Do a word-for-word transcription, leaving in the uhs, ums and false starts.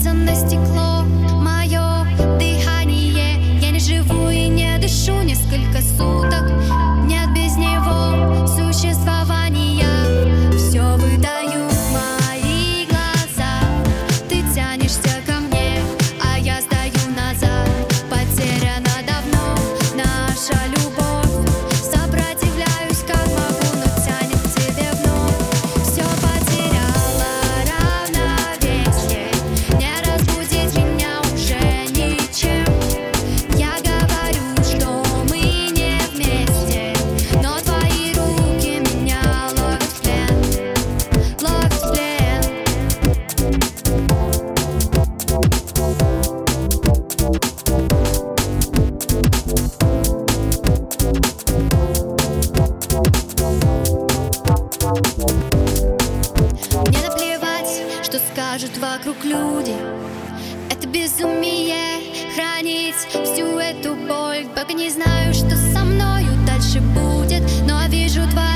Ложится на стекло мое дыхание. Я не живу и не дышу несколько суток. Нет без него существования. Все выдают мои глаза. Ты тянешься ко мне, а я стою назад. Потеряна давно наша любовь. Сопротивляюсь как могу, но тянет к тебе вновь. Все потеряла равновесие. Не разбудить меня уже ничем. Я говорю, что мы не вместе, но твои руки меня ловят в плен, ловят в плен. Мне наплевать, что скажут вокруг люди. Это безумие хранить всю эту боль. Пока не знаю, что со мною дальше будет, но вижу твои